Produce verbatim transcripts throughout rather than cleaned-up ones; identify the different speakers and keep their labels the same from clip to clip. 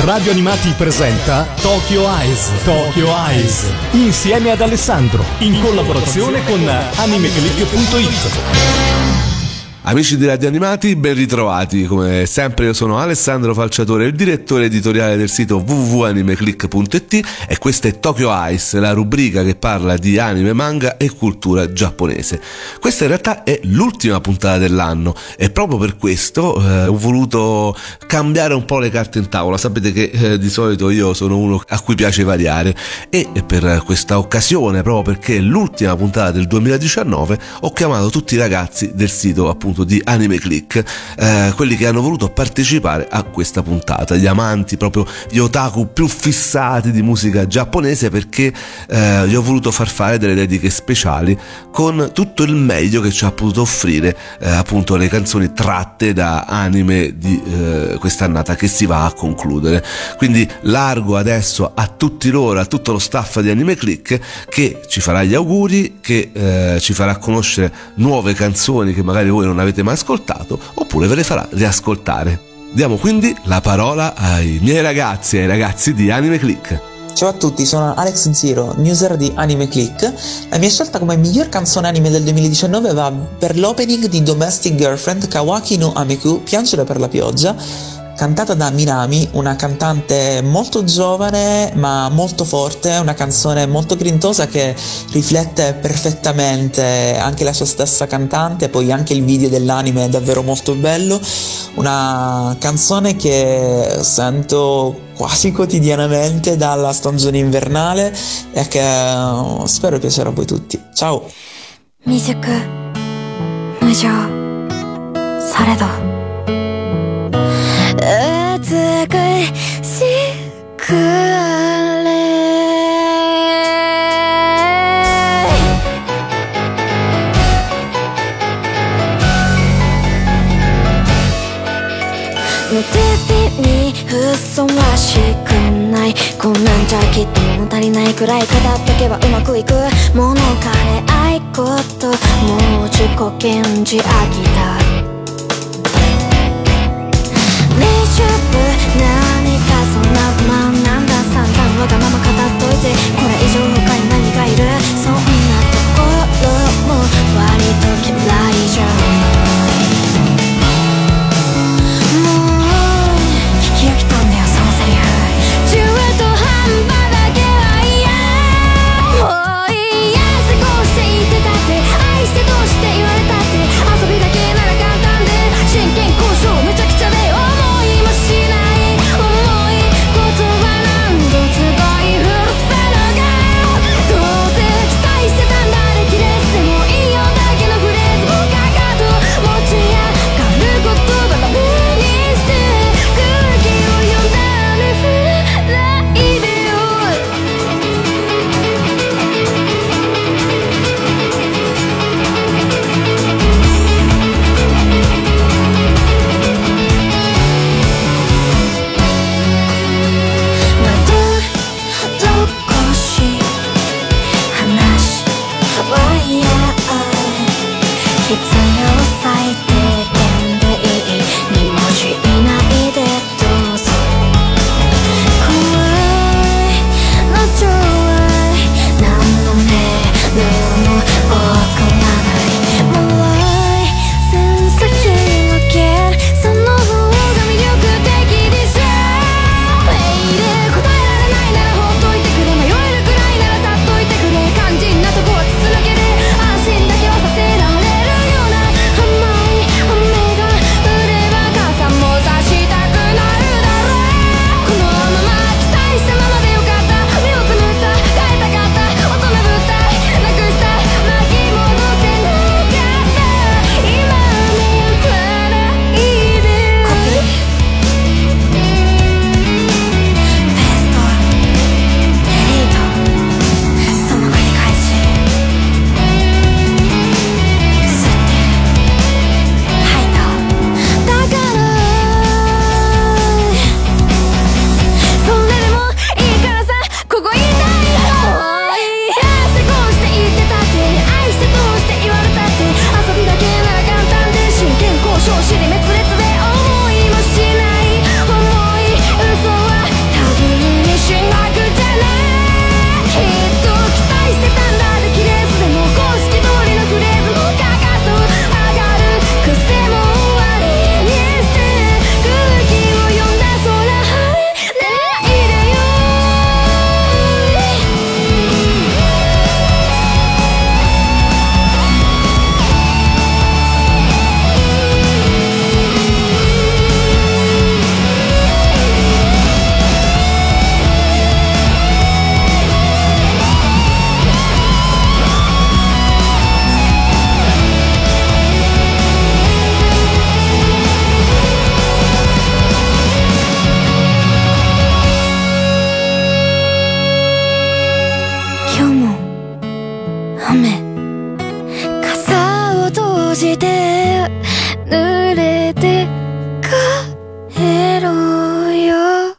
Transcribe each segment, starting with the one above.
Speaker 1: Radio Animati presenta Tokyo Eyes. Tokyo Eyes. Insieme ad Alessandro. In collaborazione con animeclick punto it.
Speaker 2: Amici di Radio Animati, ben ritrovati. Come sempre io sono Alessandro Falciatore, il direttore editoriale del sito w w w punto animeclick punto it, e questa è Tokyo Eyes, la rubrica che parla di anime, manga e cultura giapponese. Questa in realtà è l'ultima puntata dell'anno e proprio per questo eh, ho voluto cambiare un po' le carte in tavola. Sapete che eh, di solito io sono uno a cui piace variare, e per questa occasione, proprio perché è l'ultima puntata del duemiladiciannove, ho chiamato tutti i ragazzi del sito appunto di Animeclick, eh, quelli che hanno voluto partecipare a questa puntata, gli amanti, proprio gli otaku più fissati di musica giapponese, perché eh, gli ho voluto far fare delle dediche speciali con tutto il meglio che ci ha potuto offrire eh, appunto le canzoni tratte da anime di eh, quest'annata che si va a concludere. Quindi largo adesso a tutti loro, a tutto lo staff di Animeclick, che ci farà gli auguri, che eh, ci farà conoscere nuove canzoni che magari voi non avete mai ascoltato, oppure ve le farà riascoltare. Diamo quindi la parola ai miei ragazzi, ai ragazzi di Animeclick.
Speaker 3: Ciao a tutti, sono Alex Zero, newser di Animeclick. La mia scelta come miglior canzone anime del duemiladiciannove va per l'opening di Domestic Girlfriend Kawaki no Ameku, Piangere per la pioggia, cantata da Minami, una cantante molto giovane ma molto forte, una canzone molto grintosa che riflette perfettamente anche la sua stessa cantante. Poi anche il video dell'anime è davvero molto bello, una canzone che sento quasi quotidianamente dalla stagione invernale e che spero piacerà a voi tutti. Ciao!
Speaker 4: Mijuku, Mujou, Saredo 美しくあれデスティニーふさわしくない、こんなんじゃきっと物足りないくらい語っとけばうまくいく物金愛こともう自己顕示飽きた何かそんな不満なんだ、散々わがまま語っといてこれ以上他に何がいる、そんなところも割と嫌いじゃない、もう聞き飽きたんだよそのセリフ、中途半端だけは嫌、もういいや過ごしていてたって愛してどうして言われたって遊びだけなら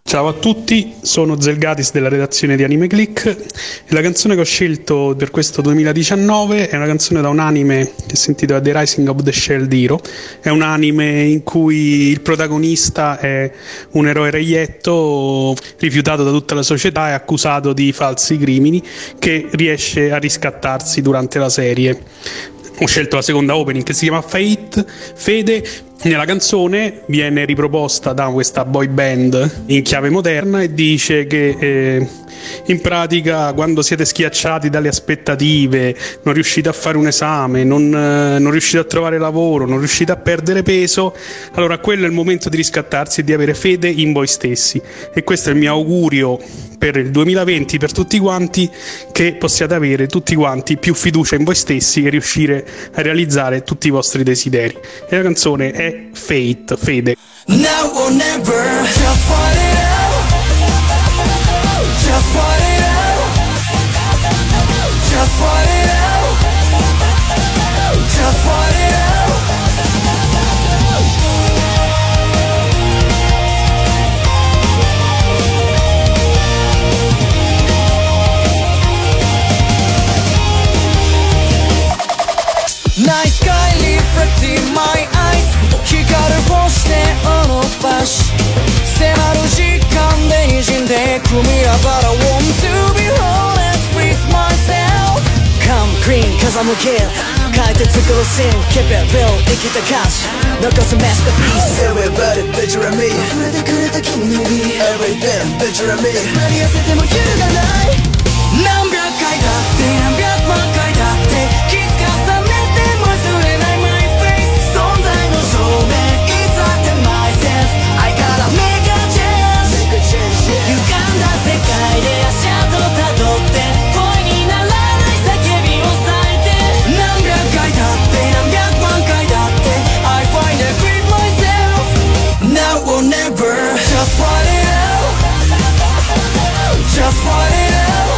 Speaker 5: Ciao a tutti, sono Zelgatis della redazione di Anime Click e la canzone che ho scelto per questo duemiladiciannove è una canzone da un anime che si intitola The Rising of the Shield Hero. È un anime in cui il protagonista è un eroe reietto rifiutato da tutta la società e accusato di falsi crimini che riesce a riscattarsi durante la serie. Ho scelto la seconda opening che si chiama Fate, Fede. Nella canzone viene riproposta da questa boy band in chiave moderna e dice che eh, in pratica quando siete schiacciati dalle aspettative, non riuscite a fare un esame, non, eh, non riuscite a trovare lavoro, non riuscite a perdere peso, allora quello è il momento di riscattarsi e di avere fede in voi stessi. E questo è il mio augurio per il duemilaventi per tutti quanti, che possiate avere tutti quanti più fiducia in voi stessi e riuscire a realizzare tutti i vostri desideri. E la canzone è Fate, Fede.
Speaker 6: Now or never, just fight it out. Just fight it out. Just fight it out. Just fight it out. Night sky reflecting my eyes. 光る星で動かし迫る時間で滲んでくみやばら Want to be honest with myself. Come clean cause I'm a kid 変えて作るシーン Keep it real 生きた歌詞残す masterpiece. Everybody picture me 溢れてくれた君の指 Everything picture me なり痩せても揺るがない何百回だって何百万回だって気づかされても忘れない My face 存在の証明 It's not in myself I gotta make a change 歪んだ世界で足跡たどって声にならない叫びを咲いて何百回だって何百万回だって I find it with myself Now or never Just fight it out Just fight it out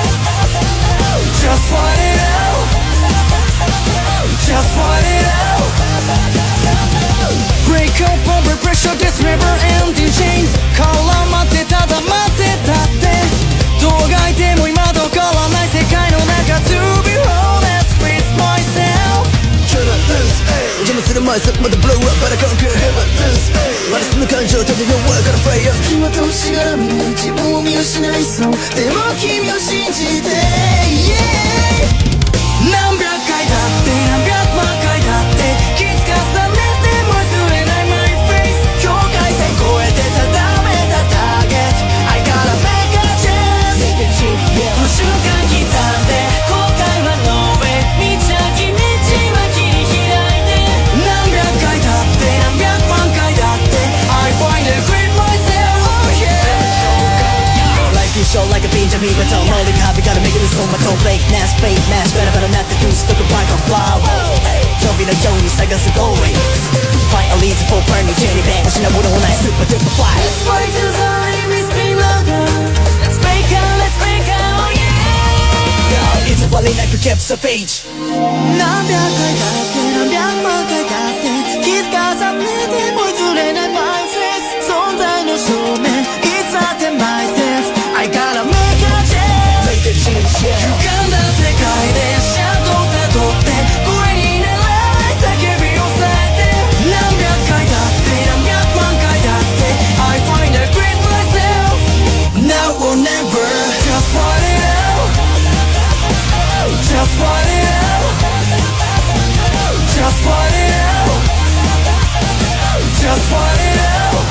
Speaker 6: Just fight it out Just fight it out Break up under pressure This never ending chain 絡まってただ待ってたってどうがいても今と変わらない世界の中 To be honest with myself Try to lose, ayy 邪魔する前さまだ blow up But I conquer heaven lose, ayy 私の感情ただの work on fire 隙間としがらみ自分を見失いそうでも君を信じて、yeah 何百回だって何百万回だって気づかされても忘れない My face 境界線越えて定めたターゲット I gotta make a change この瞬間刻んで後悔は No way 道先道は切り開いて何百回だって何百万回だって I find it with myself Oh yeah Life is short like a beach I'm even tall Molly copy gotta make it this on my toe Fake mask fake mask better better not the goose Look a bike on fly飛びのように探す Going Finally it's for brand new journey back 失うものもない Super duper fly Let's fly to the limit Spin louder Let's break out Let's break out Oh yeah いつまでなく kept the page 何百回だって何百万回だって気づかされても譲れない My face 存在の証明 It's not in myself I gotta make a change 歪んだ世界で足跡をたどって声にならない叫びを咲いて何百回だって何百万回だって I find it with myself Now or never Just fight it out Just fight it out Just fight it out Just fight it out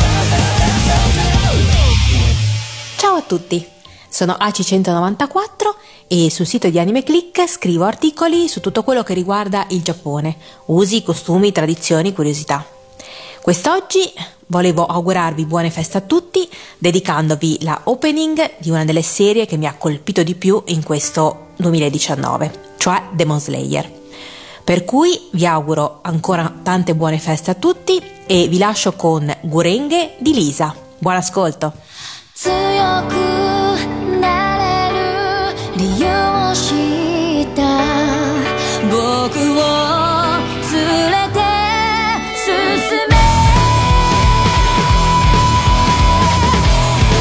Speaker 7: Ciao a tutti, sono A C centonovantaquattro e sul sito di Anime Click scrivo articoli su tutto quello che riguarda il Giappone, usi, costumi, tradizioni, curiosità. Quest'oggi volevo augurarvi buone feste a tutti dedicandovi la opening di una delle serie che mi ha colpito di più in questo duemiladiciannove, cioè Demon Slayer. Per cui vi auguro ancora tante buone feste a tutti e vi lascio con Gurenge di Lisa. Buon ascolto!
Speaker 4: 強くなれる理由を知った僕を連れて進め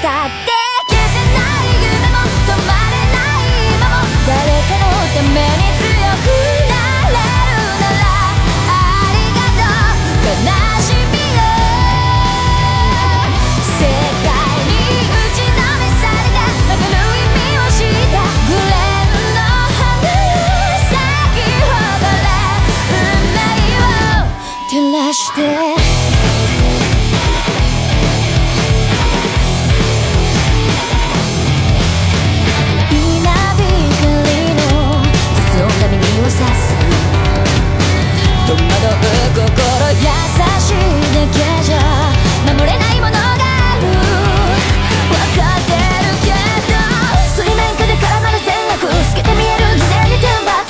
Speaker 4: したって消せない夢も止まれない今も誰かのために強くなれるならありがとう悲しみよ世界に打ちのめされたわかる意味を知ったグレーの花よ咲き誇れ運命を照らして戸惑う心優しいだけじゃ守れないものがある分かってるけど水面下で絡まる善悪透けて見える犠牲に天罰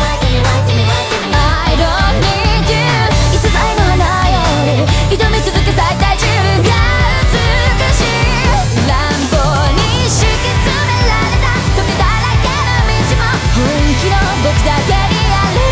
Speaker 4: I don't need you 逸材の花より挑み続け最大自分が美しい乱暴に敷き詰められた時だらけの道も本気の僕だけにある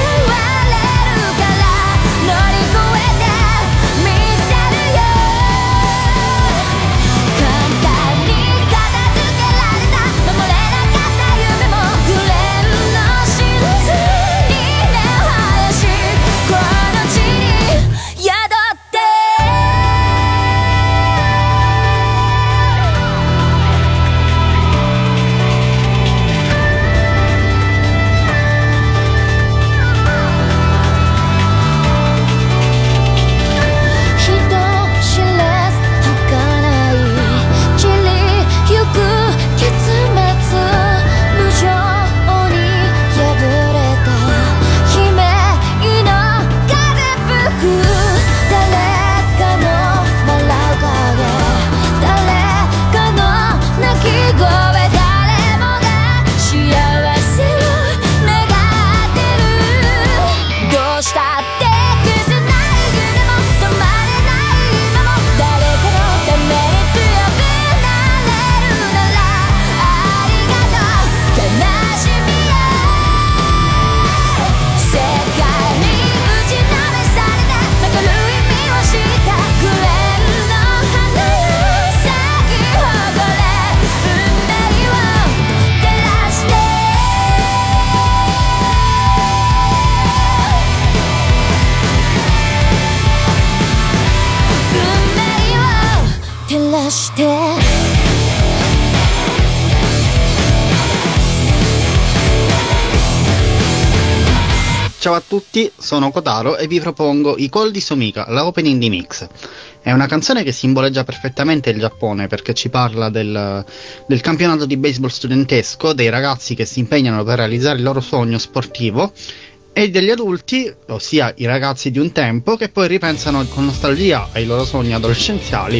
Speaker 8: Ciao a tutti, sono Kotaro e vi propongo I Col di Somica, la opening di Mix. È una canzone che simboleggia perfettamente il Giappone perché ci parla del, del campionato di baseball studentesco, dei ragazzi che si impegnano per realizzare il loro sogno sportivo e degli adulti, ossia i ragazzi di un tempo, che poi ripensano con nostalgia ai loro sogni adolescenziali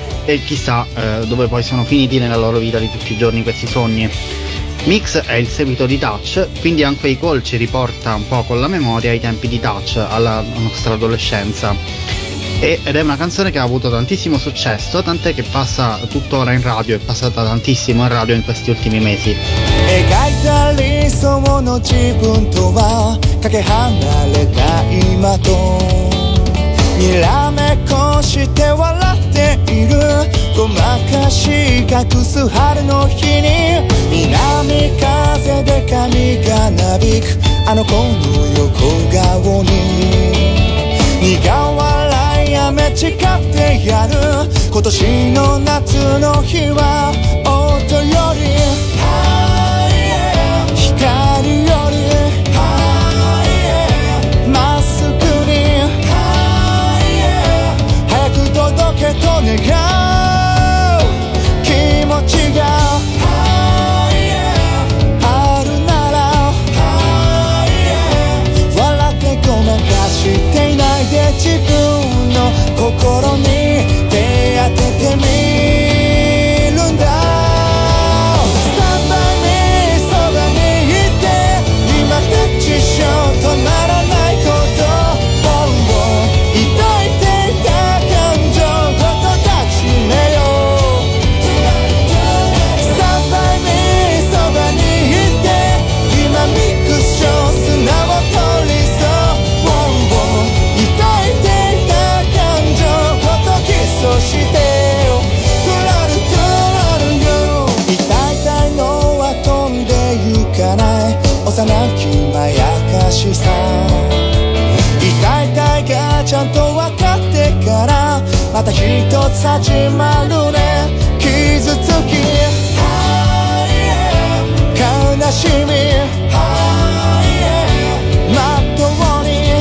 Speaker 8: e chissà eh, dove poi sono finiti nella loro vita di tutti i giorni questi sogni. Mix è il seguito di Touch, quindi anche I Call ci riporta un po' con la memoria ai tempi di Touch, alla nostra adolescenza. E, ed è una canzone che ha avuto tantissimo successo, tant'è che passa tuttora in radio, è passata tantissimo in radio in questi ultimi mesi.
Speaker 6: 一つ始まるね傷つき悲しみまっとうに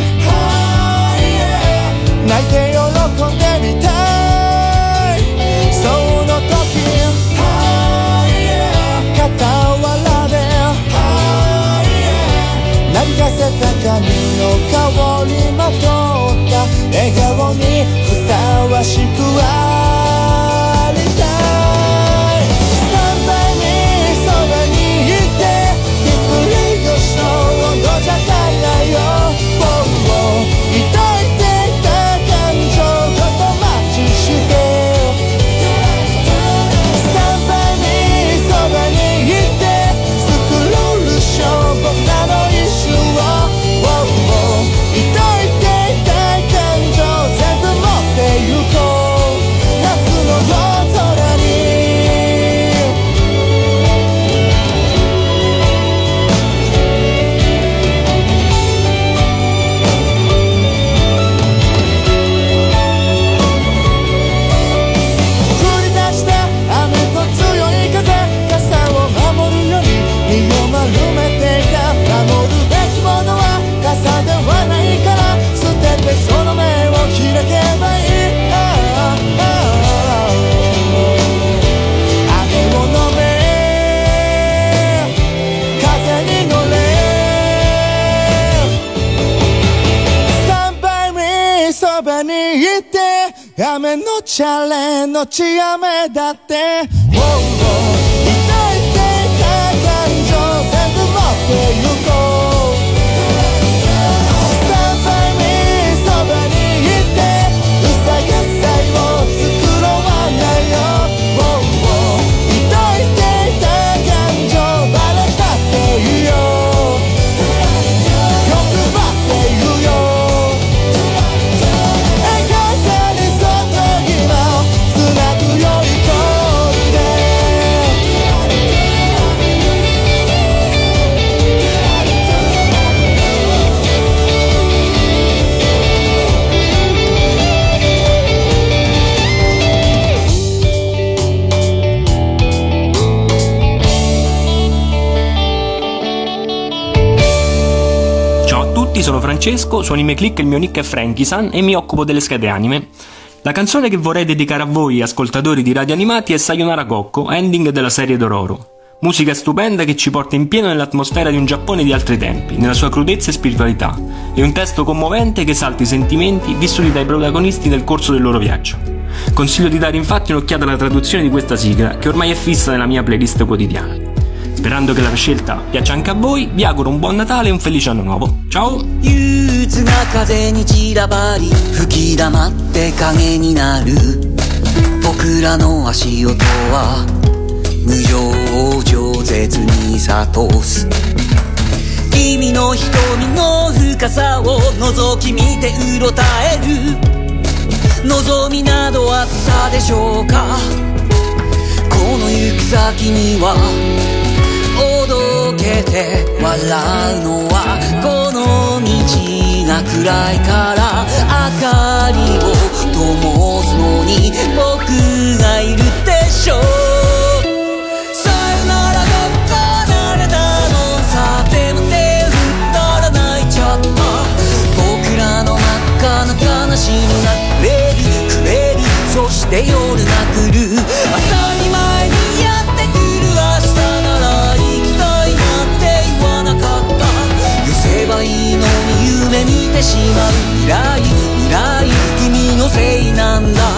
Speaker 6: 泣いて喜んでみたいその時傍らでなびかせた髪の香りまとった笑顔にふさわしくありたいスタンバイにそばにいてディスプレイ越しの温度じゃ足りないよ抱いていた感情ごとマッチしてスタンバイにそばにいてスクロールショー僕らの一瞬を抱いていた感情全部持ってゆこう夏の夜空に降り出した雨と強い風傘を守るように身を丸めていた守るべきものは傘ではないから捨ててその目を開けばいい雨を飲め風に乗れスタンバイミーそばにいて雨のチャレのち雨だって抱いていた感情全部持ってゆこうスタンバイミーそばにいてうさがさいを作ろわないよ抱いていた感情バレたっていいよ欲張って言うよ描かれそっと今をつなぐよイコールで
Speaker 9: Ciao a tutti, sono Francesco, su Anime Click il mio nick è Frankie-san e mi occupo delle schede anime. La canzone che vorrei dedicare a voi, ascoltatori di Radio Animati, è Sayonara Kokko, ending della serie Dororo. Musica stupenda che ci porta in pieno nell'atmosfera di un Giappone di altri tempi, nella sua crudezza e spiritualità, e un testo commovente che esalta i sentimenti vissuti dai protagonisti nel corso del loro viaggio. Consiglio di dare infatti un'occhiata alla traduzione di questa sigla, che ormai è fissa nella mia playlist quotidiana. Sperando che la scelta piaccia anche a voi, vi auguro un buon Natale e un felice anno nuovo. Ciao!
Speaker 6: 憂鬱な風に散らばり吹き溜って影になる僕らの足音は無情を饒舌に諭す君の瞳の深さを覗き見てうろたえる望みなどあったでしょうかこの行く先にはおどけて笑うのはこの道が暗いから明かりを灯すのに僕がいるでしょうさよならどっか離れたのさでも手振ったら泣いちゃった僕らの真っ赤な悲しみがくれるくれるそして夜が来る当たり前にやってくる明日なら行きたいなんて言わなかった寄せばいいのに夢見てしまう未来未来君のせいなんだ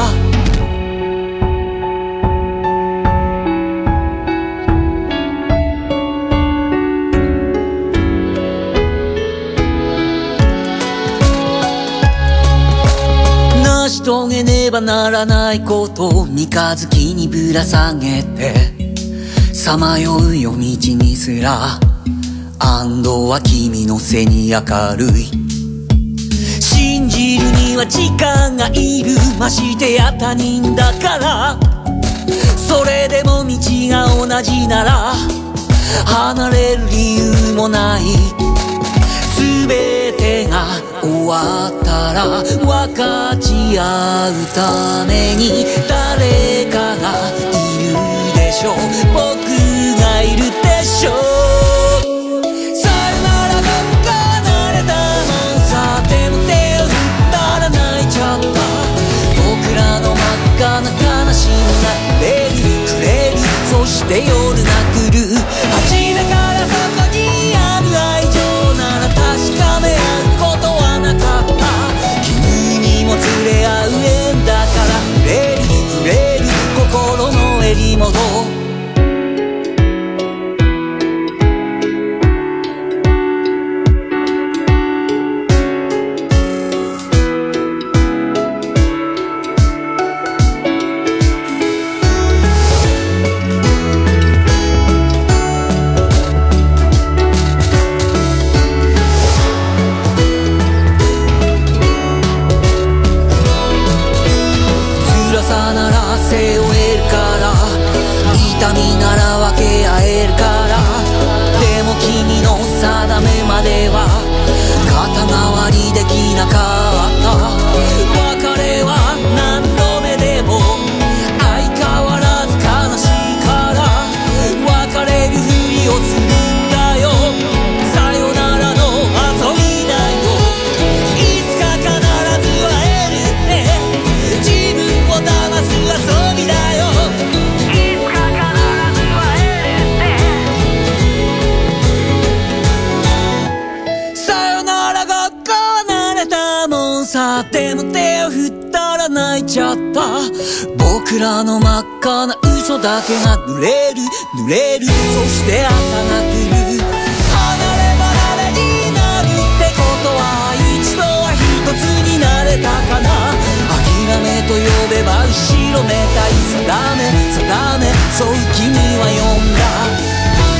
Speaker 6: 成し遂げねばならないこと三日月にぶら下げてさまよう夜道にすら安堵は君の背に明るい信じるには時間がいるましてや他人だからそれでも道が同じなら離れる理由もない全てが終わったら分かち合うために誰かがいるでしょう、僕がいるでしょう。さよならが離れたのさ、でも手を振ったら泣いちゃった。僕らの真っ赤な悲しみがくれるくれる、そして夜が来る。初めからそこにある愛情なら確かめ合うことはなかった。君にも連れ合う縁だから触れる触れる心の襟元。痛みなら分け合えるから。でも君の定めまでは肩代わりできなかった。別れは何度目でも相変わらず悲しいから別れるふりをするんだよ。さよならの遊びだよ。いつか必ず会えるって自分を騙す遊びだよ。でも手を振ったら泣いちゃった。僕らの真っ赤な嘘だけが濡れる濡れる、そして朝が来る。離れ離れになるってことは一度は一つになれたかな。諦めと呼べば後ろめたい定め定め、そう君は呼んだ。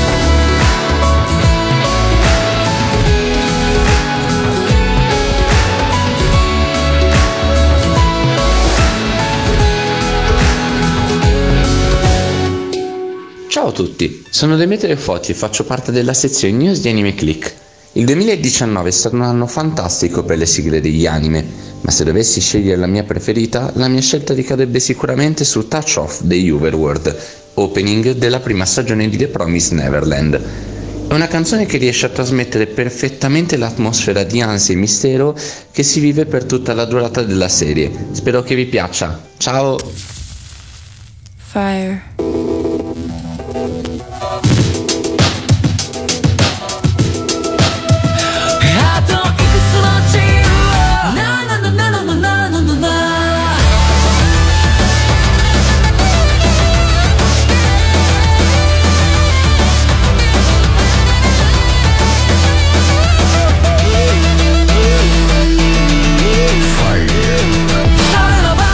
Speaker 10: Ciao a tutti, sono Demetrio Foti e faccio parte della sezione news di Anime Click. Il duemiladiciannove è stato un anno fantastico per le sigle degli anime, ma se dovessi scegliere la mia preferita, la mia scelta ricadrebbe sicuramente su Touch Off degli Overworld, opening della prima stagione di The Promised Neverland. È una canzone che riesce a trasmettere perfettamente l'atmosfera di ansia e mistero che si vive per tutta la durata della serie. Spero che vi piaccia. Ciao!
Speaker 11: Fire.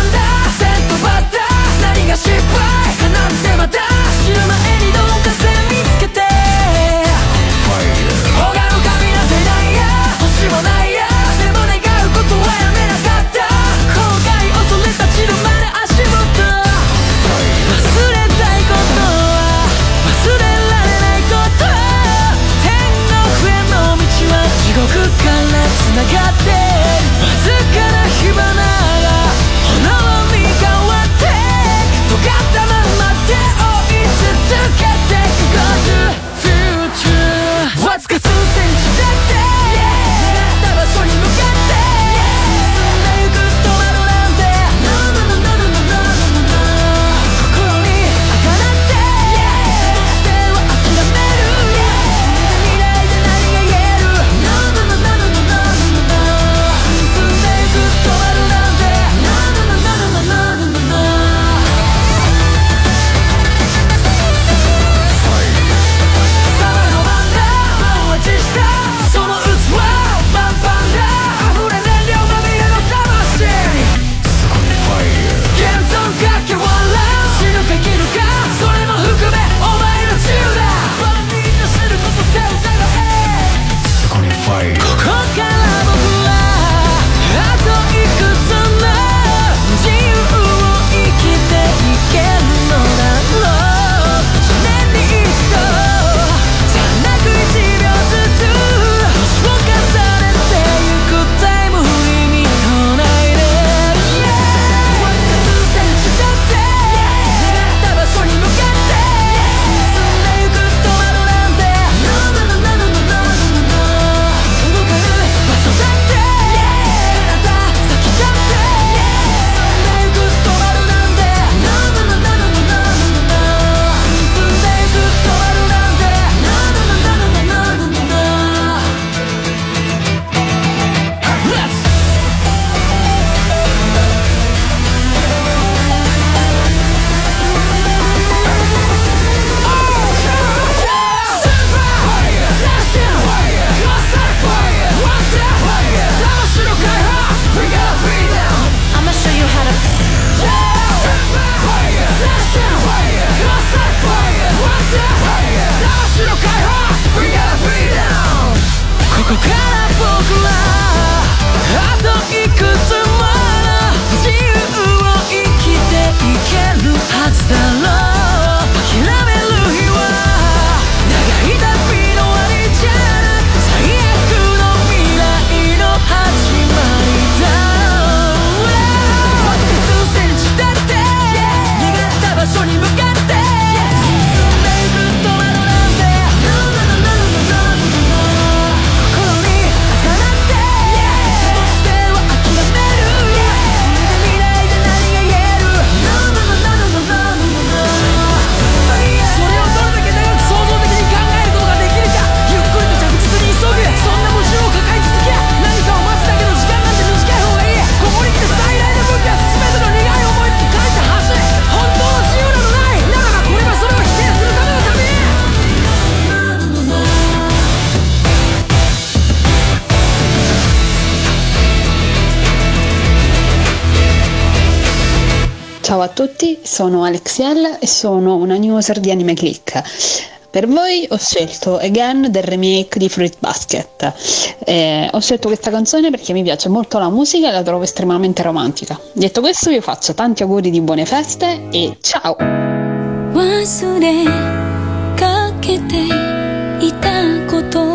Speaker 6: Ship right, and I'm my dash. You're my any don't 白解放 We got freedom ここから僕らあといくつもの自由を生きていけるはずだろう諦める日は長い旅の終わりじゃなく最悪の未来の始まりだろうそして数センチだって逃がった場所に向かって進んでいくと窓なんて心に当たってそしては諦める未来で何が言えるそれをどれだけ長く想像的に考えることができるかゆっくりと着実に急ぐそんな矛盾を抱え続け何かを待つだけの時間なんて短い方がいいここに来て最大の武器は全ての願いを思いつき書いた橋本当の自由などないならばこれはそれを否定するための旅
Speaker 11: Ciao a tutti, sono Alexiel e sono una new user di Anime Click. Per voi ho scelto Again del remake di Fruit Basket. Eh, ho scelto questa canzone perché mi piace molto la musica e la trovo estremamente romantica. Detto questo, vi faccio tanti auguri di buone feste e ciao!
Speaker 4: 忘れかけていたこと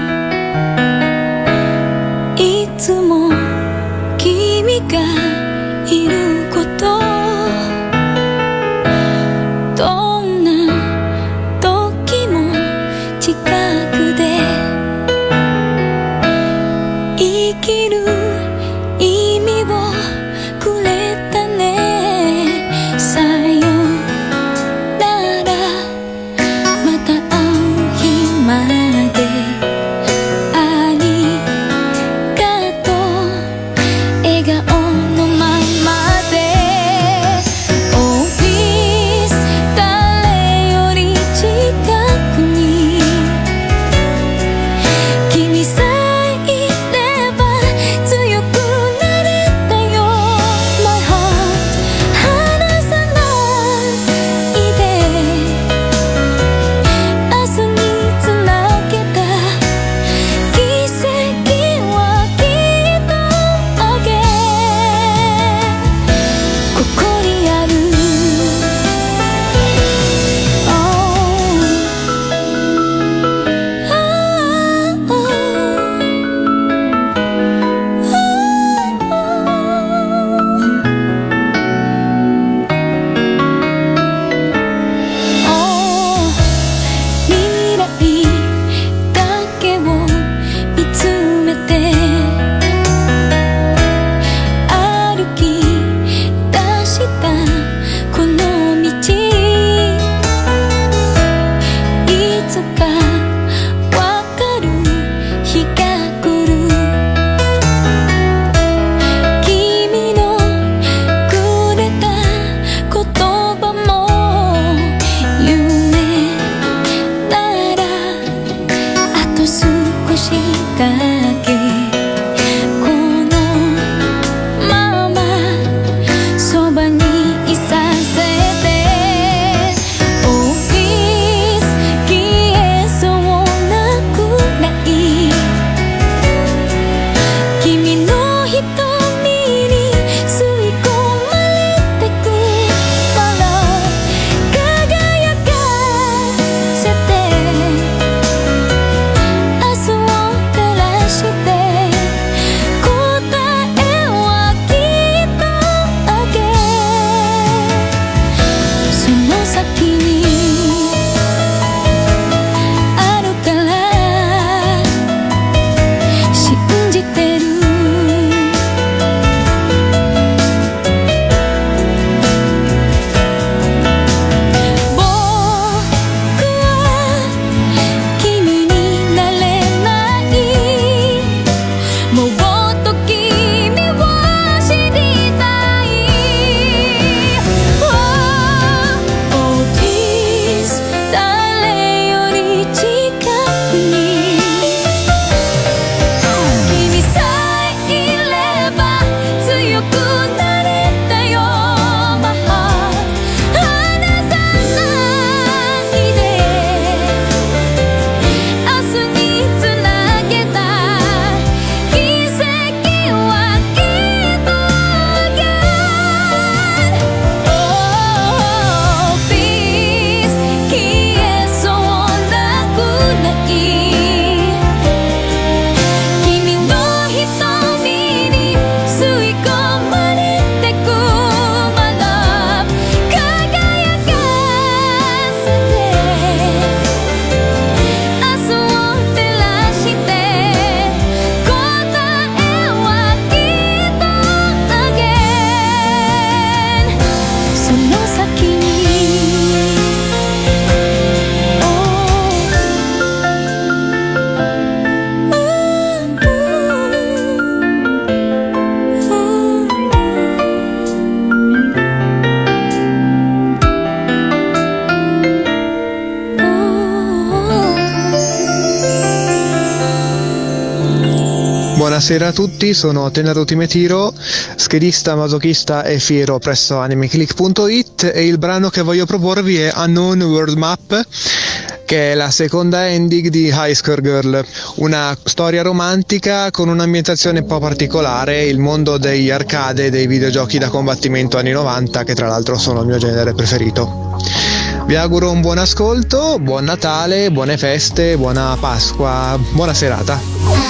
Speaker 4: いつも君がいることどんな時も近くで生きる意味をくれたねさよならまた会う
Speaker 12: buonasera a tutti, sono Tenato Timetiro, schedista, masochista e fiero presso animeclick punto it, e il brano che voglio proporvi è Unknown World Map, che è la seconda ending di High Score Girl, una storia romantica con un'ambientazione un po' particolare, il mondo degli arcade e dei videogiochi da combattimento anni novanta, che tra l'altro sono il mio genere preferito. Vi auguro un buon ascolto, buon Natale, buone feste, buona Pasqua, buona serata.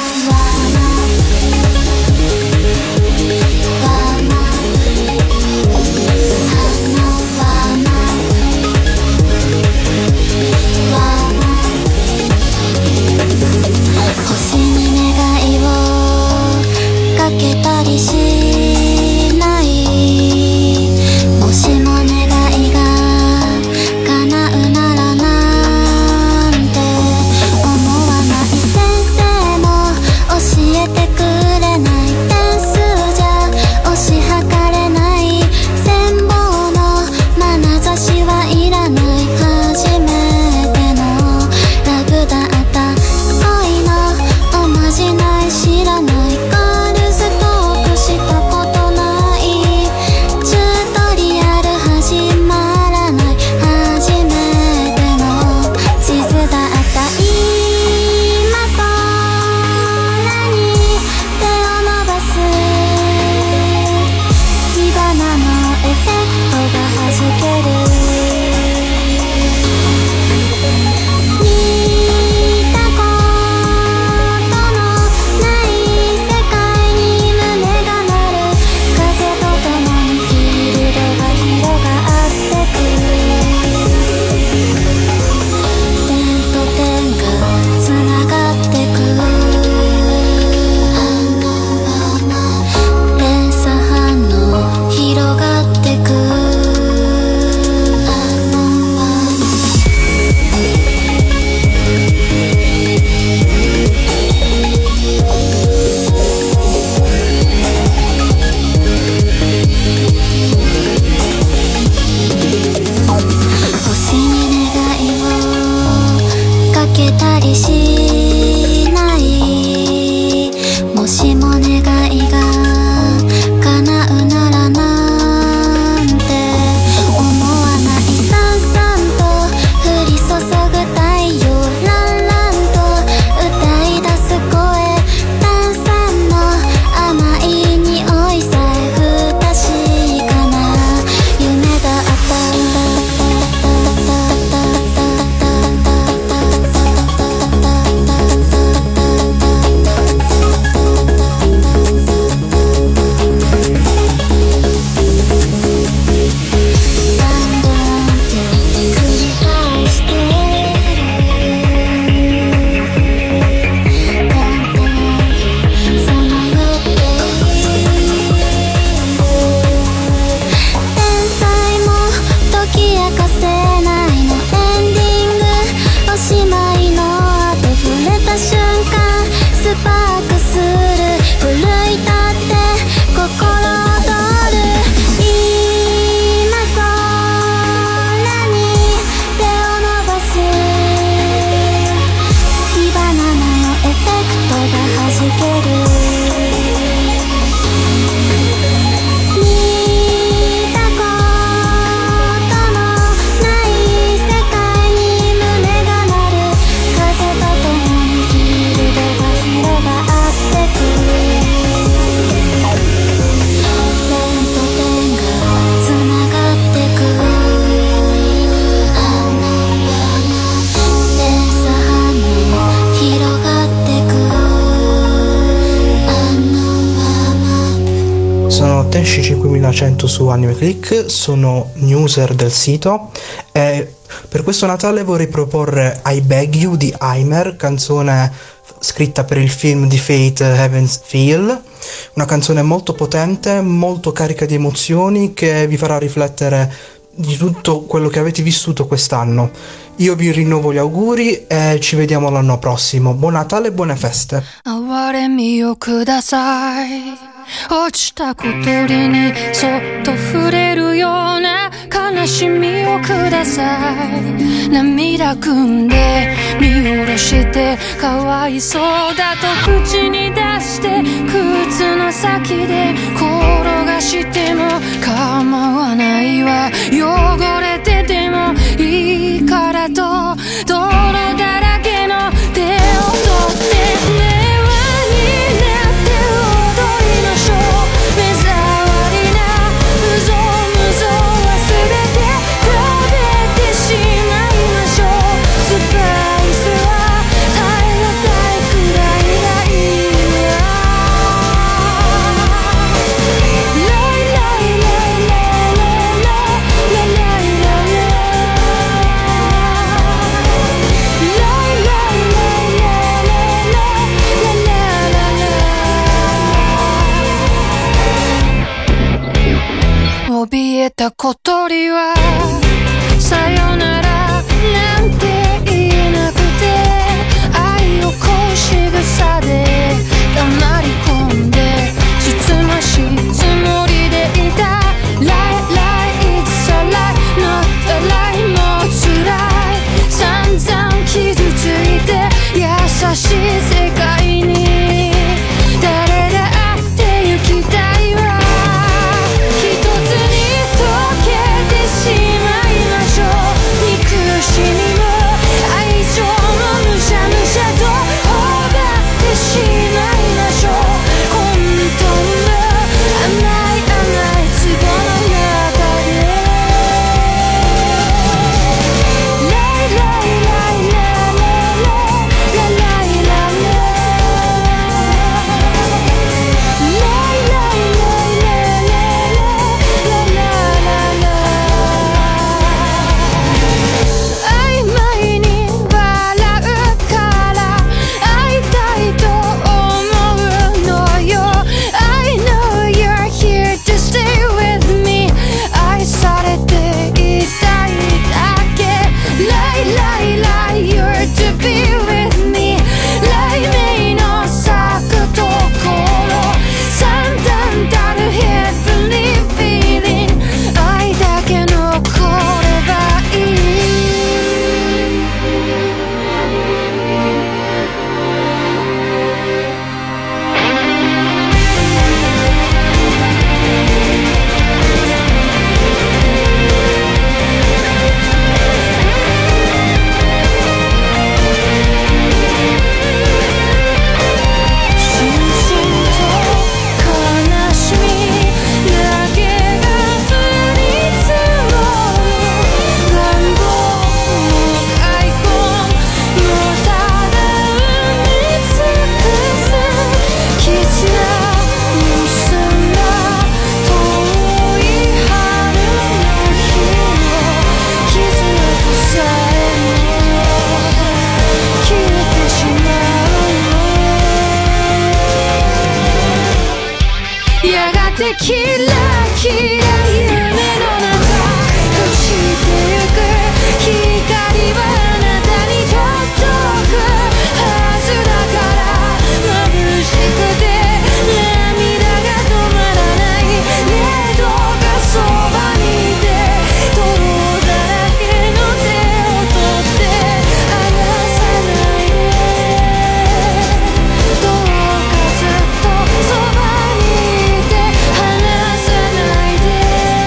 Speaker 13: Tenshi cinquemilacento su AnimeClick, sono newser del sito e per questo Natale vorrei proporre I Beg You di Aimer, canzone scritta per il film di Fate Heaven's Feel, una canzone molto potente, molto carica di emozioni che vi farà riflettere di tutto quello che avete vissuto quest'anno. Io vi rinnovo gli auguri e ci vediamo l'anno prossimo. Buon Natale e buone feste.
Speaker 14: 落ちた小鳥にそっと触れるような悲しみをください。涙ぐんで見下ろしてかわいそうだと口に出らして靴の先で転がしても構わないわ汚れててもいいからと泥だらけの手を取って目はになって踊りましょう目障りな無造無造は全て食べてしまいましょうスパイスは耐え難いくらいがいいわライライライライライライライライ怯えた小鳥はさよならなんて言えなくて愛をこうしぐさで黙り込んでつつましいつもりでいた Lie, lie, it's a lie, not a lie もう辛い散々傷ついて優しい世界に誰だって行きたいわ一つに溶けてしまいましょう憎しみも愛情もむしゃむしゃと頬張ってしまいましょう混沌の甘い甘い壺の中でライライライライライライライ曖昧に笑うから会いたいと思うのよ I know you're here to stay with me 愛されていたいだけ Lie, lie, lie, you're to be with me 雷鳴の咲くところ散々たる heavenly feeling 愛だけ残ればいいしんしんと悲しみだけが降り積もる願望も開墾もただ埋め尽くす絆結んだ遠い春の日の傷跡さえも消えてしまうやがてキラキラ夢の中朽ちてゆく光はあなたに届くはずだから眩しくて涙が止まらないねどうかそばにいて泥だらけの手を取って離さないでどうかずっとそばにいて離さないで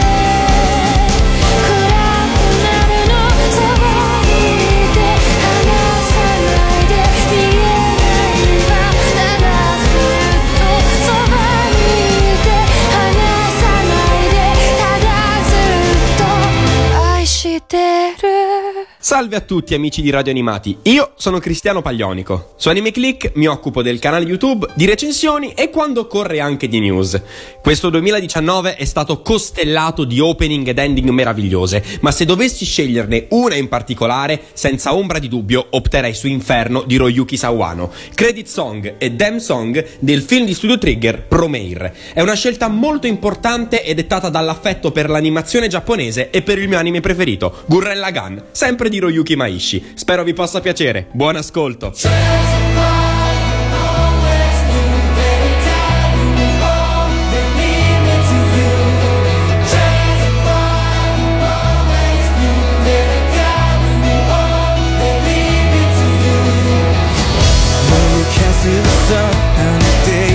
Speaker 14: 暗くなるのそばにいて離さないで見えないわただずっとそばにいて離さないでただずっと愛してる
Speaker 15: Salve a tutti amici di Radio Animati, io sono Cristiano Paglionico. Su Anime Click mi occupo del canale YouTube, di recensioni e quando occorre anche di news. Questo duemiladiciannove è stato costellato di opening ed ending meravigliose, ma se dovessi sceglierne una in particolare, senza ombra di dubbio opterei su Inferno di Royuki Sawano, credit song e theme song del film di Studio Trigger Promare. È una scelta molto importante e dettata dall'affetto per l'animazione giapponese e per il mio anime preferito, Gurren Lagann, sempre di Hiroyuki Maishi. Spero vi possa piacere. Buon ascolto.
Speaker 6: To the sun and the day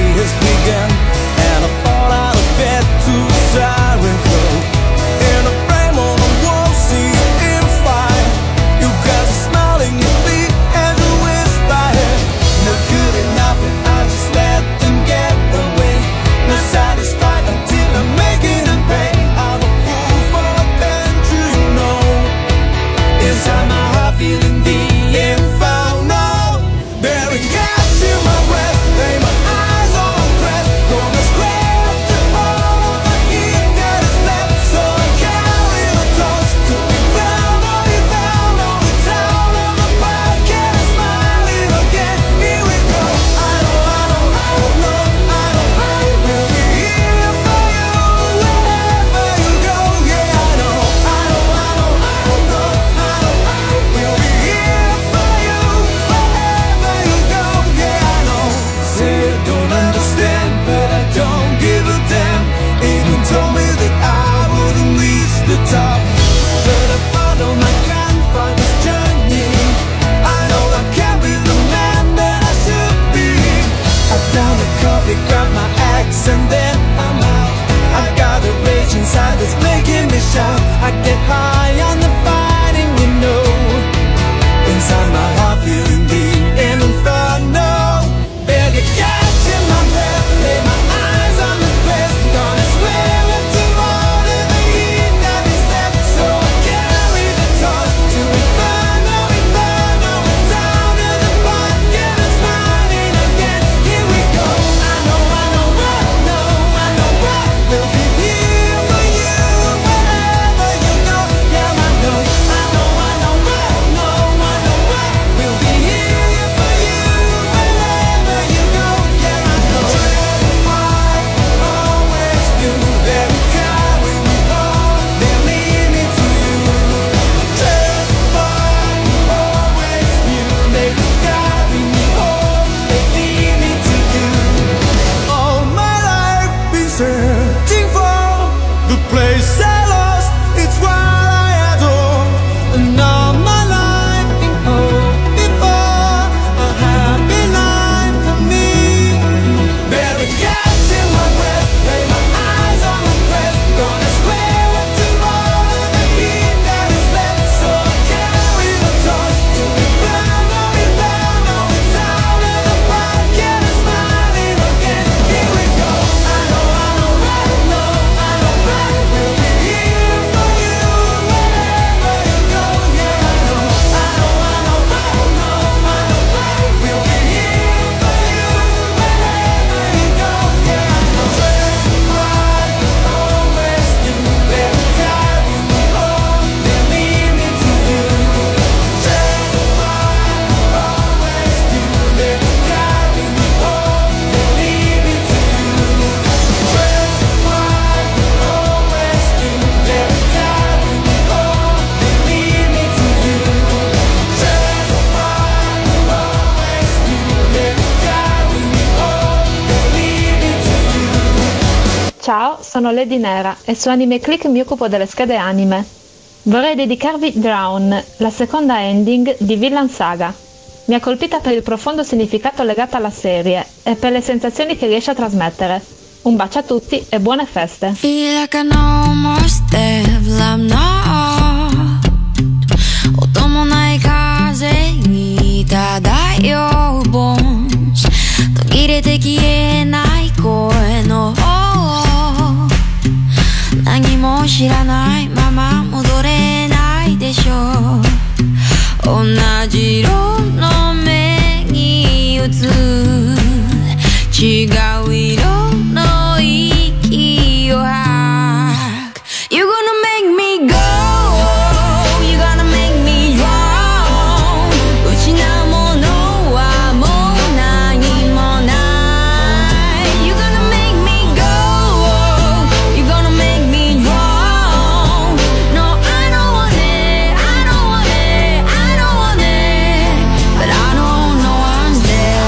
Speaker 16: sono Lady Nera e su Anime Click mi occupo delle schede anime. Vorrei dedicarvi Drown, la seconda ending di Vinland Saga. Mi ha colpita per il profondo significato legato alla serie e per le sensazioni che riesce a trasmettere. Un bacio a tutti e buone feste.
Speaker 14: Feel like I no more stable, I'm not. 音もない風に漂う bones 途切れて消えない声の方何も知らないまま戻れないでしょう同じ色の目に映る違う色の息を吐く You're gonna make me go You're gonna make me wrong 失うものはもう何もない You're gonna make me go You're gonna make me wrong No, I don't want it I don't want it I don't want it But I don't know one's there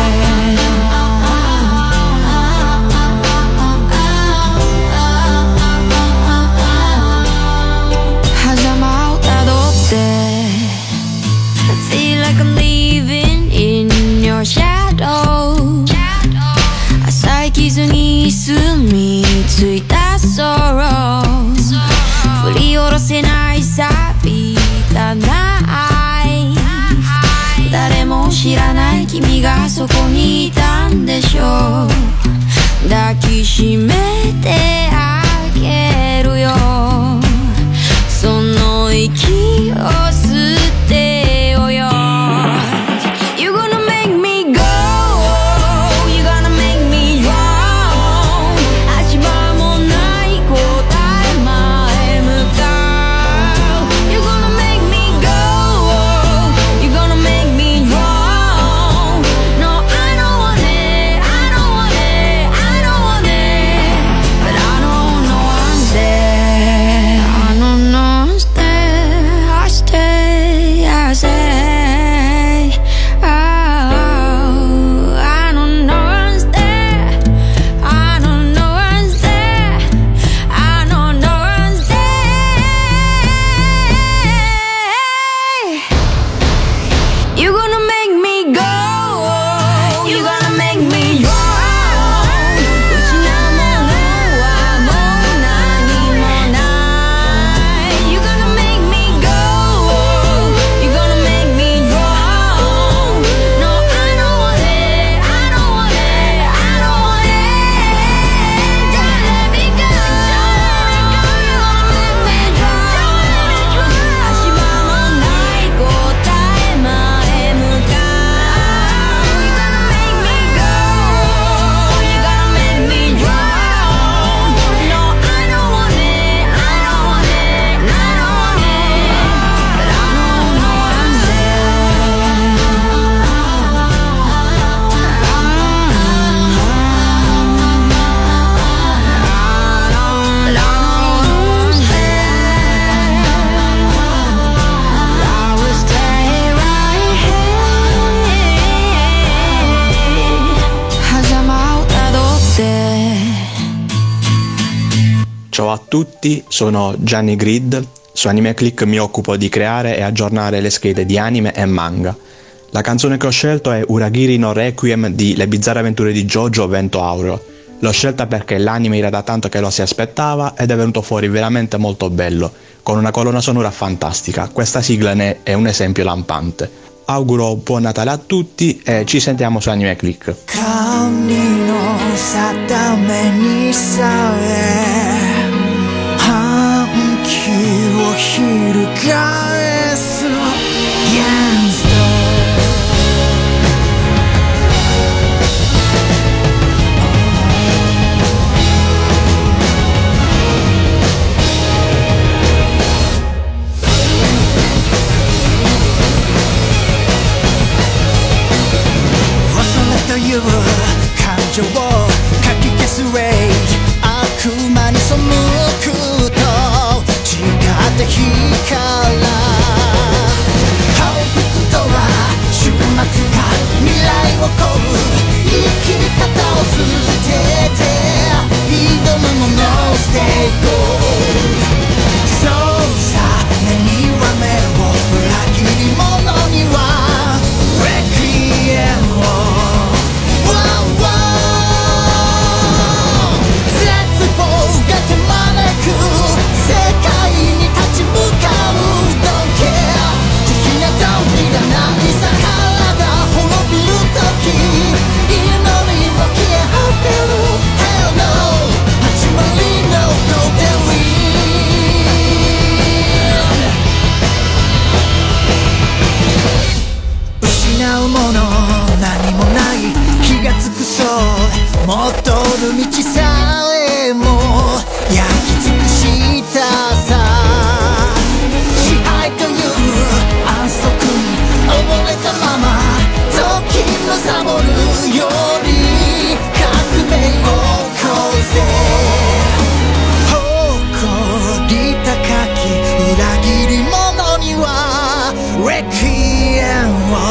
Speaker 14: 狭間をたどって I feel like I'm living in your shadow 浅い傷に住み着いた sorrow 振り下ろせない錆びたナイフ誰も知らない君がそこにいたんでしょう抱きしめてあげるよその息を吸ってよよ You're gonna make me go You're gonna make me wrong 足場もない答え前向かう You're gonna make me go You're gonna make me wrong No, I don't want it I don't want it I don't want it But I don't know I'm there I don't know I'm there I stay I say Oh I don't know I'm there I don't know I'm there I don't know I'm there You're gonna make me go You're gonna make me wrong 失うものはもう何もない You're gonna make me go You're gonna make me wrong No, I don't want it I don't want it I don't want it Don't let me go You're gonna make me drown 足場もない答え前向かう You're gonna make me go You're gonna make me drown No, I don't want it I don't want it I don't want it But I don't know I'm I will stay right here 狭間をたどって
Speaker 12: Ciao a tutti, sono Gianni Grid. Su Anime Click mi occupo di creare e aggiornare le schede di anime e manga. La canzone che ho scelto è Uragiri no Requiem di Le bizzarre avventure di Jojo Vento Aureo. L'ho scelta perché l'anime era da tanto che lo si aspettava ed è venuto fuori veramente molto bello, con una colonna sonora fantastica. Questa sigla ne è un esempio lampante. Auguro buon Natale a tutti e ci sentiamo su Anime Click.
Speaker 6: 神の定めにさえ反旗を翻す Gangsterという感情をかき消す Rage 悪魔に背くと違った日からレクイエムを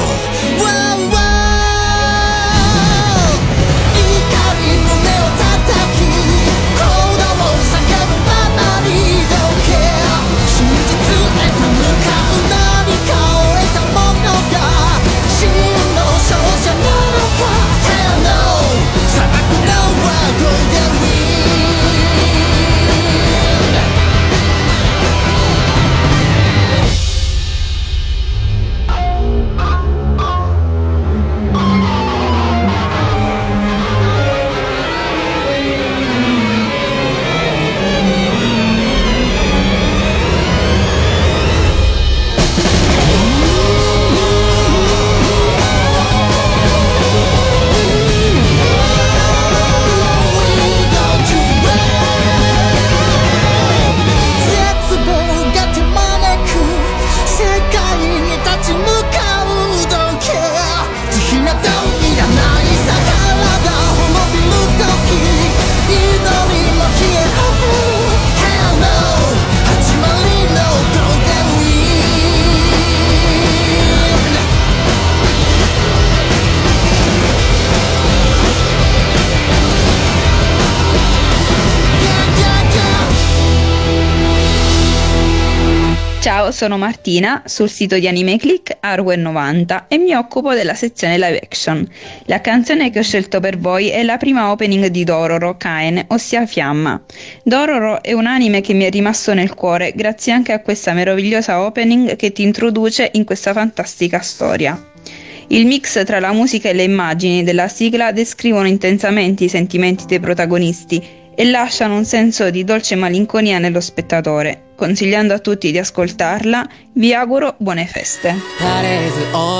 Speaker 17: Ciao, sono Martina, sul sito di AnimeClick Arwen novanta e mi occupo della sezione live action. La canzone che ho scelto per voi è la prima opening di Dororo Kaen, ossia Fiamma. Dororo è un anime che mi è rimasto nel cuore grazie anche a questa meravigliosa opening che ti introduce in questa fantastica storia. Il mix tra la musica e le immagini della sigla descrivono intensamente i sentimenti dei protagonisti e lasciano un senso di dolce malinconia nello spettatore. Consigliando a tutti di ascoltarla, vi auguro buone feste.
Speaker 6: That is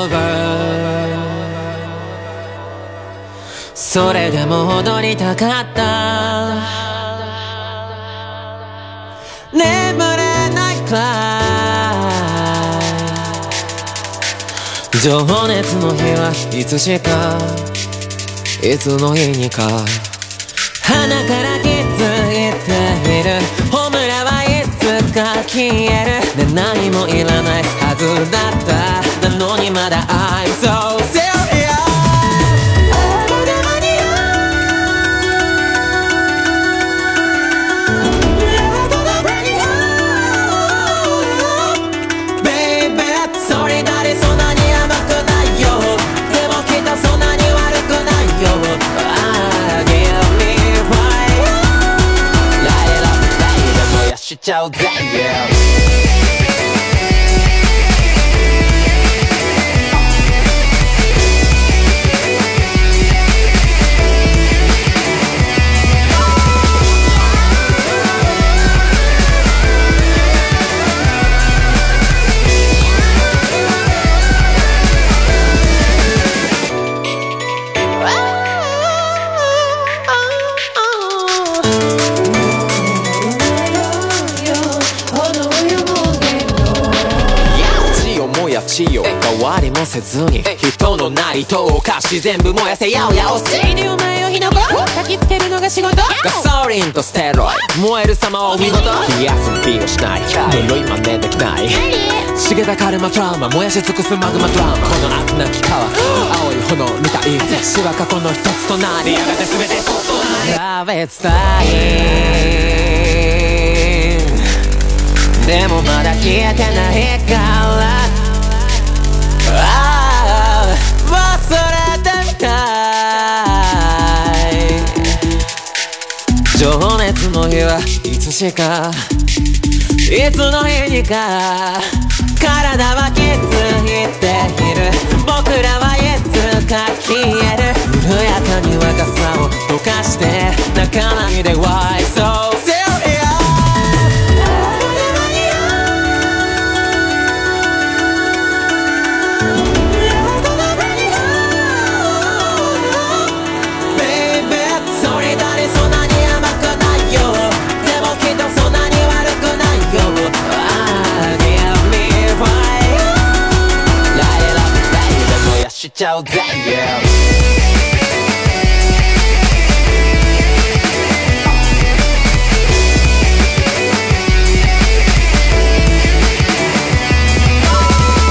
Speaker 6: over それでも踊りたかった眠れないくらい情熱の日はいつしかいつの日にか鼻から気づいているホムラはいつか消えるで何もいらないはずだったなのにまだ I'm so serious Baby それなりそんなに甘くないよでもきっとそんなに悪くないよしちゃうぜ、yeah. 変わりもせずに人のなりとおかし全部燃やせやおやおしいでお前を火の粉焚きつけるのが仕事ガソリンとステロイ燃える様はお見事気休みをしない呪い真似できない茂たカルマトラウマ燃やし尽くすマグマドラマこの悪なき川青い炎みたい死は過去の一つとなりやがて全てそっとなりLove it's dyingでもまだ消えてないからああ忘れてたい情熱の日はいつしかいつの日にか体は気づいている僕らはいつか消える緩やかに若さを溶かして泣かないで Why so seriousしちゃうぜ、yeah.
Speaker 18: 「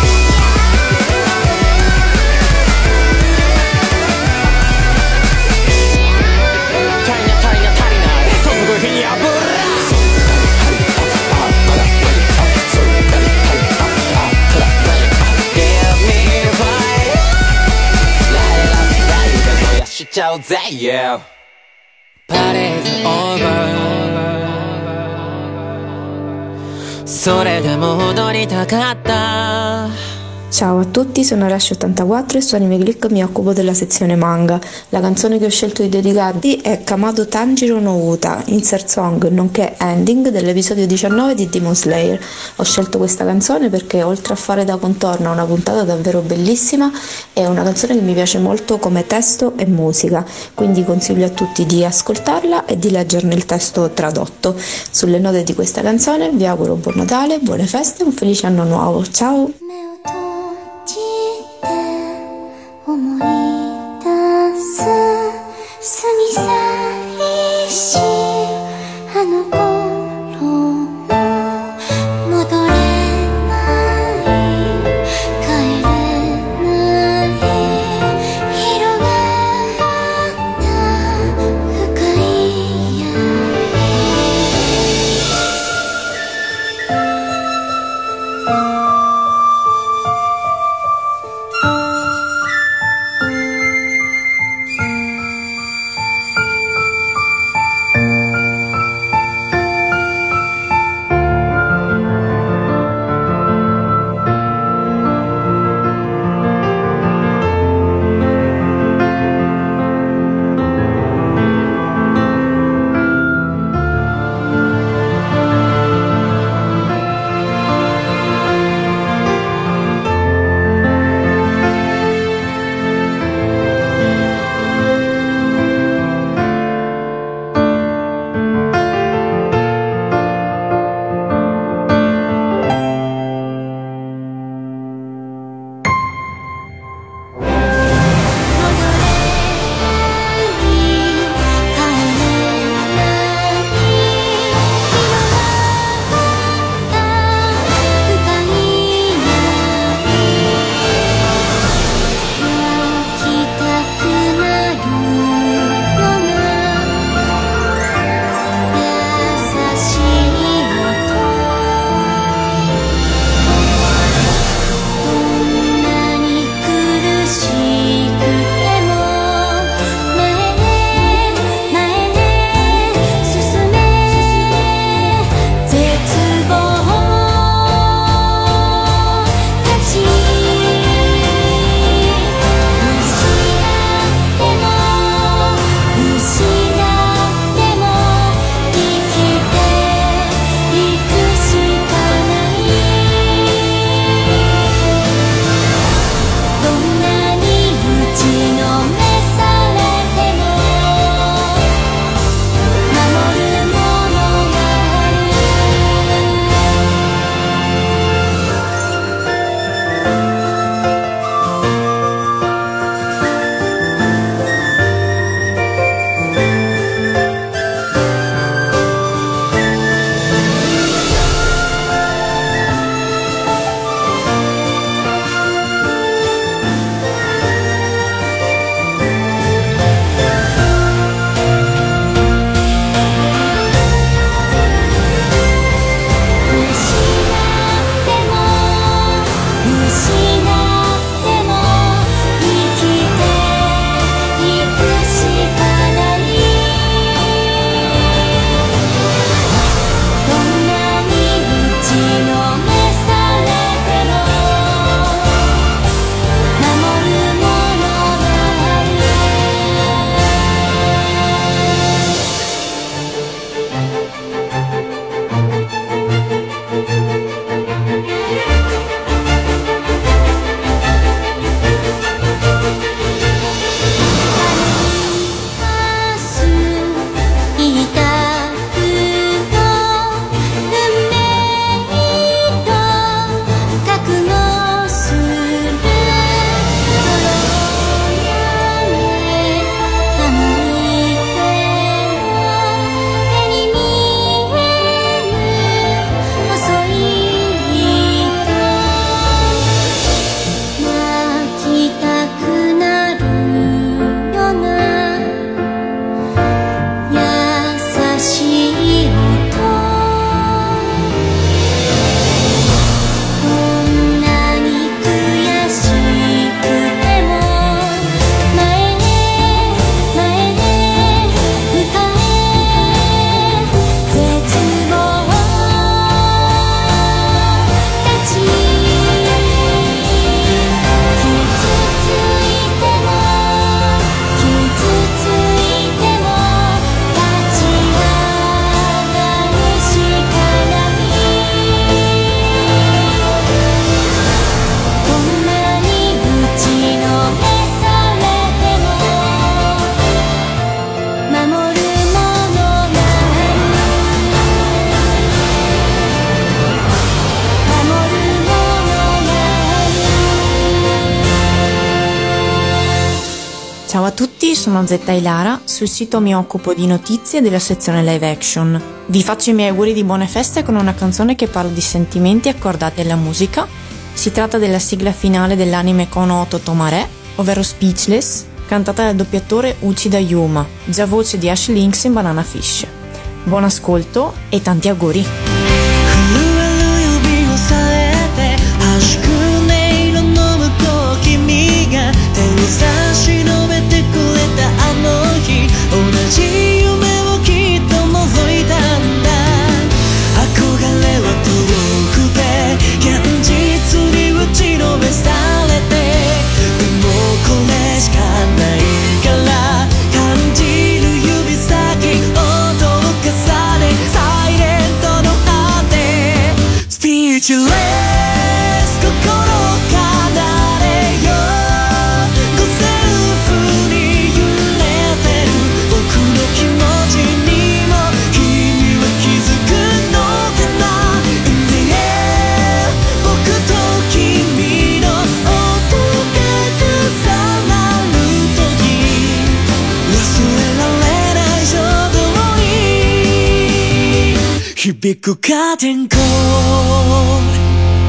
Speaker 18: out that yeah Party's over それでも踊りたかった
Speaker 19: Ciao a tutti, sono Arashi ottantaquattro e su Anime Click mi occupo della sezione manga. La canzone che ho scelto di dedicarvi è Kamado Tanjiro no Uta, insert song nonché ending dell'episodio diciannove di Demon Slayer. Ho scelto questa canzone perché oltre a fare da contorno a una puntata davvero bellissima è una canzone che mi piace molto come testo e musica, quindi consiglio a tutti di ascoltarla e di leggerne il testo tradotto. Sulle note di questa canzone vi auguro buon Natale, buone feste e un felice anno nuovo. Ciao!
Speaker 4: 思い出す過ぎ去りしあの頃も戻れない帰れない広がった深い闇
Speaker 20: Ciao a tutti, sono Zetta Ilara, sul sito mi occupo di notizie della sezione live action. Vi faccio i miei auguri di buone feste con una canzone che parla di sentimenti accordati alla musica. Si tratta della sigla finale dell'anime Konoto Tomare, ovvero Speechless, cantata dal doppiatore Uchida Yuma, già voce di Ash Lynx in Banana Fish. Buon ascolto e tanti auguri!
Speaker 6: 響くカーテンコール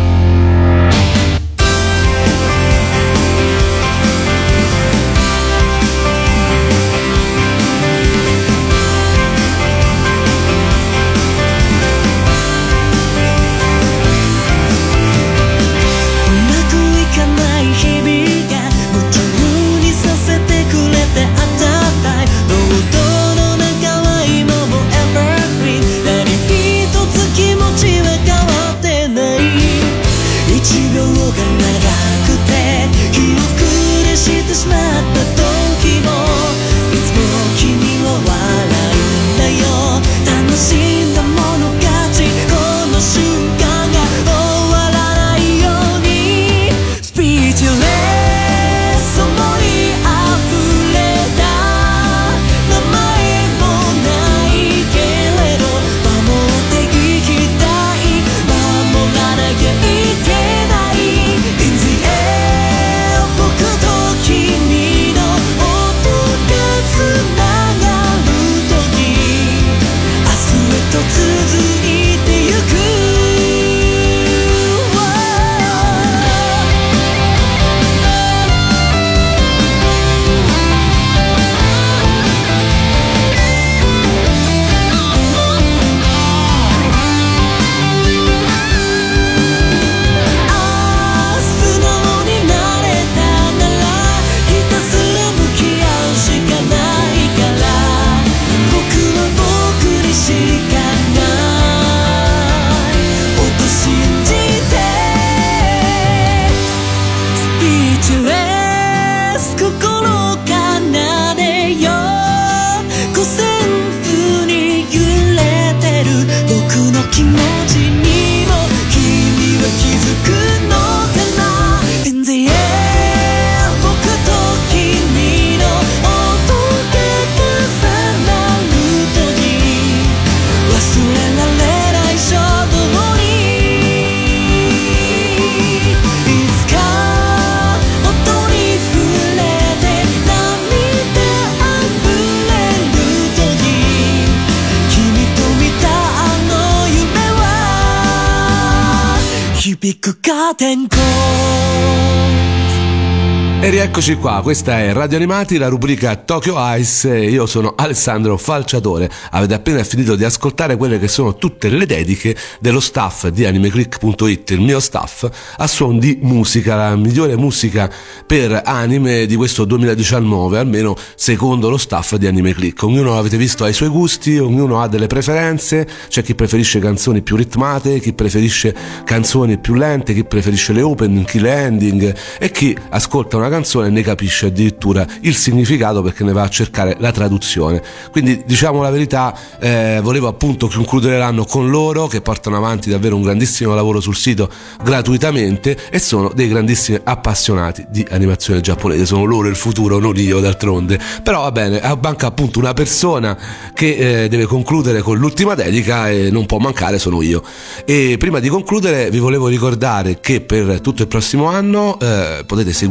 Speaker 2: E rieccoci qua, questa è Radio Animati, la rubrica Tokyo Ice, e io sono Alessandro Falciatore. Avete appena finito di ascoltare quelle che sono tutte le dediche dello staff di animeclick punto it, il mio staff, a suon di musica, la migliore musica per anime di questo duemiladiciannove, almeno secondo lo staff di Animeclick. Ognuno, avete visto, ha i suoi gusti, ognuno ha delle preferenze, c'è chi preferisce canzoni più ritmate, chi preferisce canzoni più lente, chi preferisce le opening, chi le ending, e chi ascolta una canzone e ne capisce addirittura il significato perché ne va a cercare la traduzione. Quindi, diciamo la verità, eh, volevo appunto concludere l'anno con loro, che portano avanti davvero un grandissimo lavoro sul sito gratuitamente e sono dei grandissimi appassionati di animazione giapponese. Sono loro il futuro, non io, d'altronde. Però va bene, manca appunto una persona che eh, deve concludere con l'ultima dedica e non può mancare, sono io. E prima di concludere vi volevo ricordare che per tutto il prossimo anno eh, potete seguirci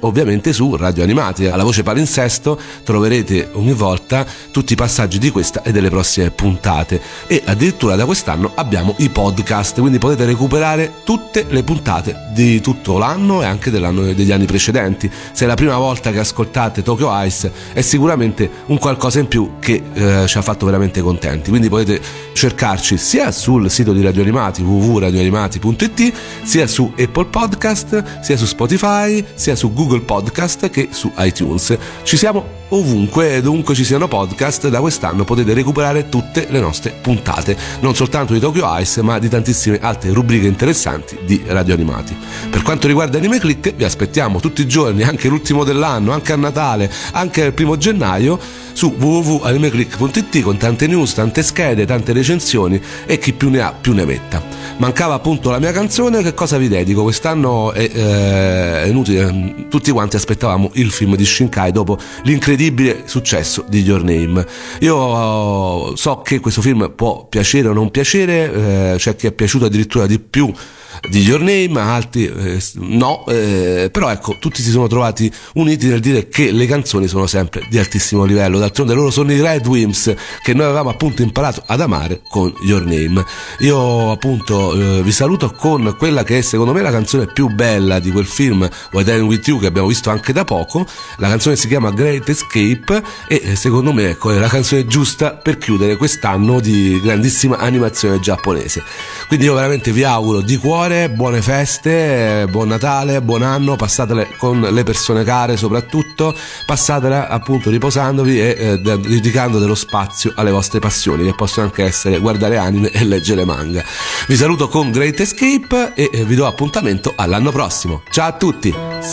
Speaker 2: ovviamente su Radio Animati. Alla voce palinsesto troverete ogni volta tutti i passaggi di questa e delle prossime puntate, e addirittura da quest'anno abbiamo i podcast, quindi potete recuperare tutte le puntate di tutto l'anno e anche dell'anno degli anni precedenti. Se è la prima volta che ascoltate Tokyo Ice è sicuramente un qualcosa in più che eh, ci ha fatto veramente contenti, quindi potete cercarci sia sul sito di Radio Animati w w w punto radio animati punto i t, sia su Apple Podcast, sia su Spotify, sia su Google Podcast che su iTunes. Ci siamo ovunque e dovunque ci siano podcast. Da quest'anno potete recuperare tutte le nostre puntate, non soltanto di Tokyo Ice ma di tantissime altre rubriche interessanti di Radio Animati. Per quanto riguarda Anime Click, vi aspettiamo tutti i giorni, anche l'ultimo dell'anno, anche a Natale, anche il primo gennaio, su w w w punto anime click punto i t, con tante news, tante schede, tante recensioni e chi più ne ha più ne metta. Mancava appunto la mia canzone. Che cosa vi dedico? Quest'anno è, eh, è inutile, tutti quanti aspettavamo il film di Shinkai dopo l'incredibile successo di Your Name. Io so che questo film può piacere o non piacere, eh, c'è chi è piaciuto addirittura di più di Your Name, altri eh, no, eh, però ecco, tutti si sono trovati uniti nel dire che le canzoni sono sempre di altissimo livello. D'altronde loro sono i Red Wimps, che noi avevamo appunto imparato ad amare con Your Name. Io appunto eh, vi saluto con quella che è secondo me la canzone più bella di quel film What I'm With You, che abbiamo visto anche da poco. La canzone si chiama Great Escape e secondo me ecco, è la canzone giusta per chiudere quest'anno di grandissima animazione giapponese. Quindi io veramente vi auguro di cuore buone feste, buon Natale, buon anno, passatele con le persone care, soprattutto passatela appunto riposandovi e eh, dedicando dello spazio alle vostre passioni, che possono anche essere guardare anime e leggere manga. Vi saluto con Great Escape e eh, vi do appuntamento all'anno prossimo. Ciao a tutti.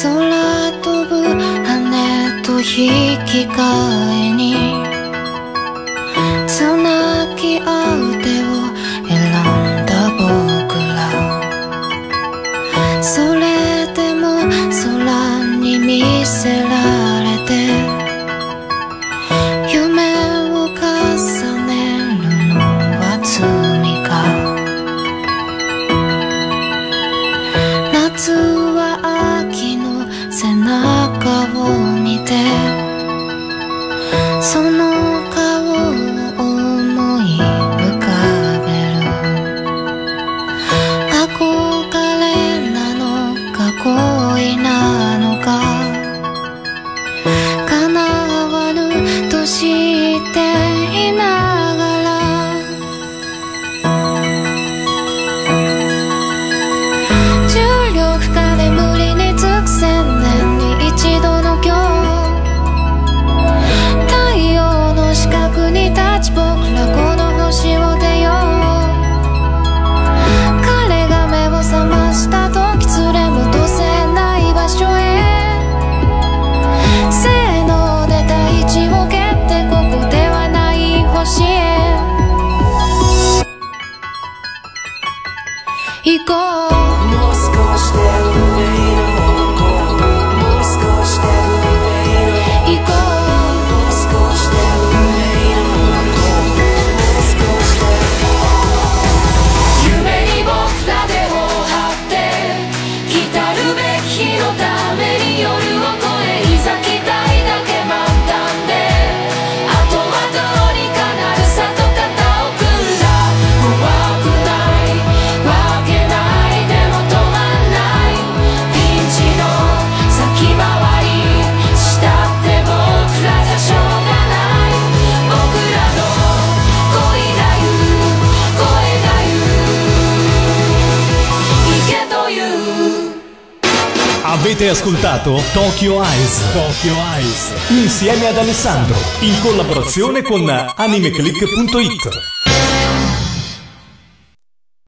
Speaker 4: それでも空に見せられて夢を重ねるのは罪か夏は秋の背中を見てその顔を思い浮かべる憧れなのか恋なのか叶わぬとしていながら重力下で無理につく千年に一度の今日太陽の四角に立ち僕らこの星を出よう彼が目を覚ました時連れ戻せない場所へせーので大地を蹴ってここではない星へ行こうもう少しで運命の方向もう少しで運命の行こうもう少しで運命の方向もう少しで夢に僕ら手を張って来たるべき日のために夜を越えいざ期待だけ満タンであとはどうにかなるさと肩を組んだ怖くないわけないでも止まんないピンチの先回りしたって僕らじゃしょうがない僕らの恋が言う声が言う行けという
Speaker 1: Avete ascoltato Tokyo Eyes, Tokyo Eyes, insieme ad Alessandro, in collaborazione con animeclick punto it.